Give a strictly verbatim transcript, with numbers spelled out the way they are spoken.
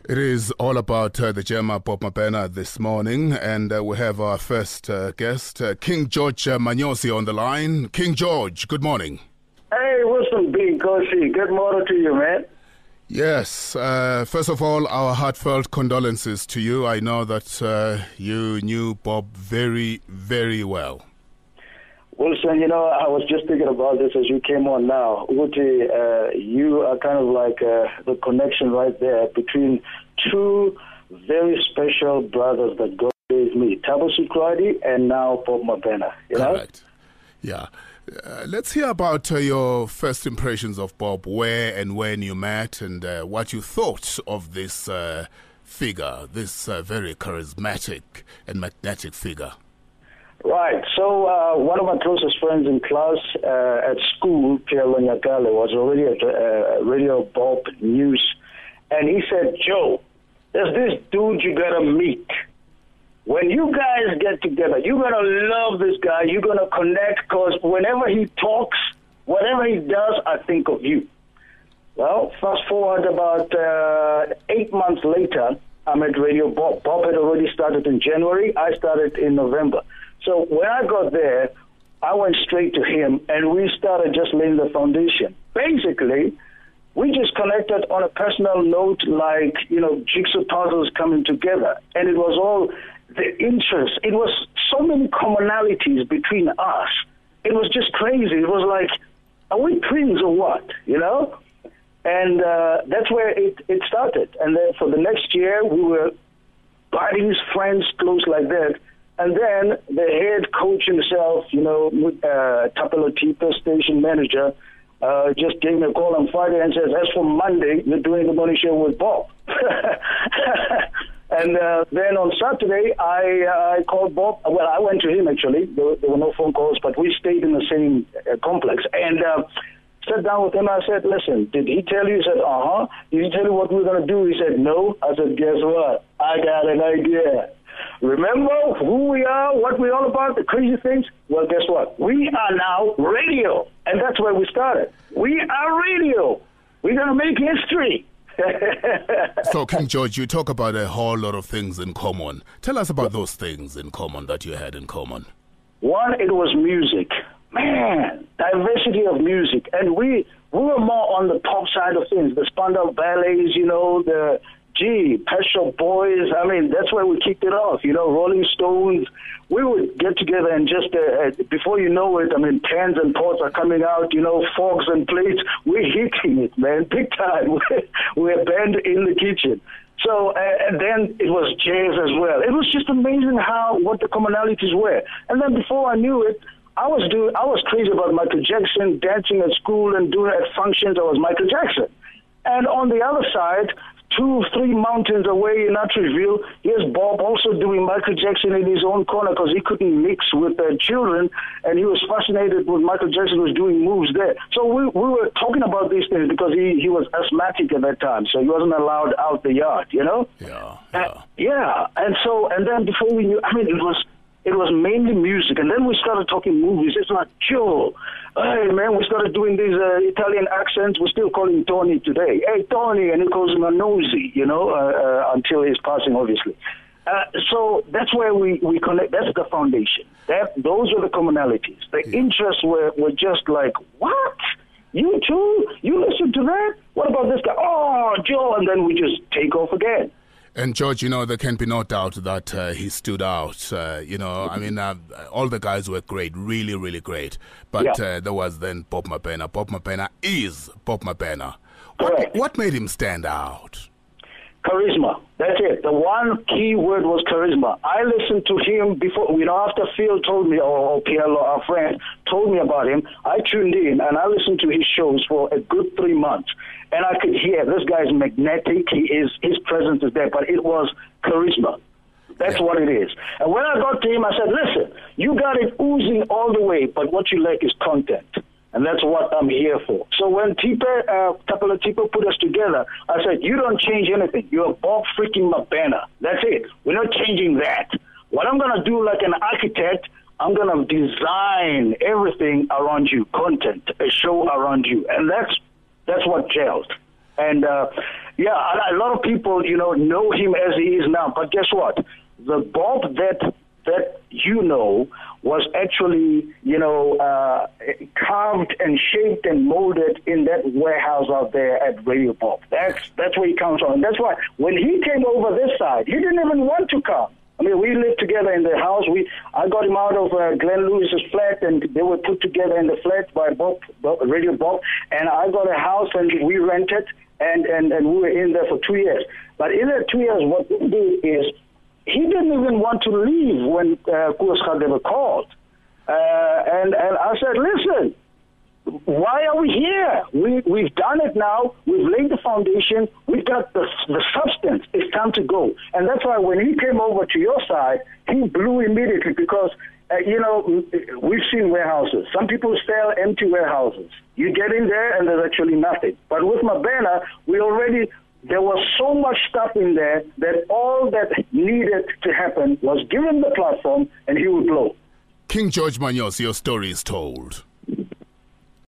It is all about uh, the Gemma Bob Mabena this morning, and uh, we have our first uh, guest, uh, King George uh, Manyosi, on the line. King George, good morning. Hey, Wilson B. Kosi, good morning to you, man. Yes, uh, first of all, our heartfelt condolences to you. I know that uh, you knew Bob very, very well. Wilson, you know, I was just thinking about this as you came on now. Uti, uh, you are kind of like uh, the connection right there between two very special brothers that God gave me, Thabo Sekradi and now Bob Mabena. You know? Correct. Yeah. Uh, let's hear about uh, your first impressions of Bob, where and when you met, and uh, what you thought of this uh, figure, this uh, very charismatic and magnetic figure. Right. So uh, one of my closest friends in class uh, at school, Pierre Lonyakale, was already at uh, Radio Bob News, and he said, Joe, there's this dude you gotta meet. When you guys get together, you're going to love this guy. You're going to connect because whenever he talks, whatever he does, I think of you. Well, fast forward about uh, eight months later, I'm at Radio Bob. Bob had already started in January. I started in November. So when I got there, I went straight to him, and we started just laying the foundation. Basically, we just connected on a personal note, like, you know, jigsaw puzzles coming together. And it was all the interest. It was so many commonalities between us. It was just crazy. It was like, are we twins or what, you know? And uh, that's where it, it started. And then for the next year, we were buddies, friends, close like that. And then the head coach himself, you know, uh, Tapalotipa station manager, uh, just gave me a call on Friday and says, as for Monday, you're doing the morning show with Bob. And uh, then on Saturday, I uh, I called Bob. Well, I went to him, actually. There, there were no phone calls, but we stayed in the same uh, complex. And uh, sat down with him. I said, listen, did he tell you? He said, uh-huh. Did he tell you what we were going to do? He said, no. I said, guess what? I got an idea. Remember who we are, what we're all about, the crazy things? Well, guess what? We are now radio. And that's where we started. We are radio. We're going to make history. So, King George, you talk about a whole lot of things in common. Tell us about those things in common that you had in common. One, it was music. Man, diversity of music. And we, we were more on the pop side of things, the Spandau Ballets, you know, the... Gee, Pet Shop Boys, I mean, that's where we kicked it off, you know, Rolling Stones. We would get together and just, uh, uh, before you know it, I mean, pans and pots are coming out, you know, forks and plates. We're hitting it, man, big time. We're a band in the kitchen. So, uh, and then it was jazz as well. It was just amazing how, what the commonalities were. And then before I knew it, I was doing, I was crazy about Michael Jackson, dancing at school and doing at functions. I was Michael Jackson. And on the other side, two, three mountains away in Atteryville, here's Bob also doing Michael Jackson in his own corner because he couldn't mix with uh, children, and he was fascinated with Michael Jackson was doing moves there. So we we were talking about these things because he, he was asthmatic at that time, so he wasn't allowed out the yard, you know? Yeah. Yeah. Yeah. Uh, yeah. And so, and then before we knew, I mean, it was it was mainly music, and then we started talking movies. It's like, Joe, hey, man, we started doing these uh, Italian accents. We still call him Tony today. Hey, Tony, and he calls him a nosy, you know, uh, uh, until his passing, obviously. Uh, so that's where we, we connect. That's the foundation. That Those were the commonalities. The yeah. interests were, were just like, what? You too? You listen to that? What about this guy? Oh, Joe, and then we just take off again. And George, you know, there can be no doubt that uh, he stood out. Uh, you know, I mean, uh, all the guys were great, really, really great. But yeah. uh, there was then Bob Mabena. Bob Mabena is Bob Mabena. What, what made him stand out? Charisma. That's it. The one key word was charisma. I listened to him before, you know, after Phil told me, or, or Pielo, our friend, told me about him, I tuned in and I listened to his shows for a good three months. And I could hear this guy's magnetic. He is, his presence is there, but it was charisma. That's yeah. what it is. And when I got to him, I said, listen, you got it oozing all the way, but what you lack is content. And that's what I'm here for. So when Tipe, uh, Tapala Tipe put us together, I said, you don't change anything. You're Bob freaking Mabena. That's it. We're not changing that. What I'm going to do like an architect, I'm going to design everything around you, content, a show around you. And that's that's what gelled. And uh, Yeah, a lot of people, you know, know him as he is now. But guess what? The Bob that that you know was actually, you know, uh, carved and shaped and molded in that warehouse out there at Radio Bob. That's that's where he comes from. And that's why when he came over this side, he didn't even want to come. I mean, we lived together in the house. We I got him out of uh, Glenn Lewis's flat, and they were put together in the flat by Bob, Bob, Radio Bob. And I got a house, and we rented, and, and, and we were in there for two years. But in that two years, what we did is he didn't even want to leave when uh, Koos Radebe called. Uh, and, and I said, listen, why are we here? We, we've done it now. We've laid the foundation. We've got the, the substance. It's time to go. And that's why when he came over to your side, he blew immediately because, uh, you know, we've seen warehouses. Some people sell empty warehouses. You get in there and there's actually nothing. But with Mabena, we already, there was so much stuff in there that all that needed to happen was given the platform and he would blow. King George Manyosi, your story is told.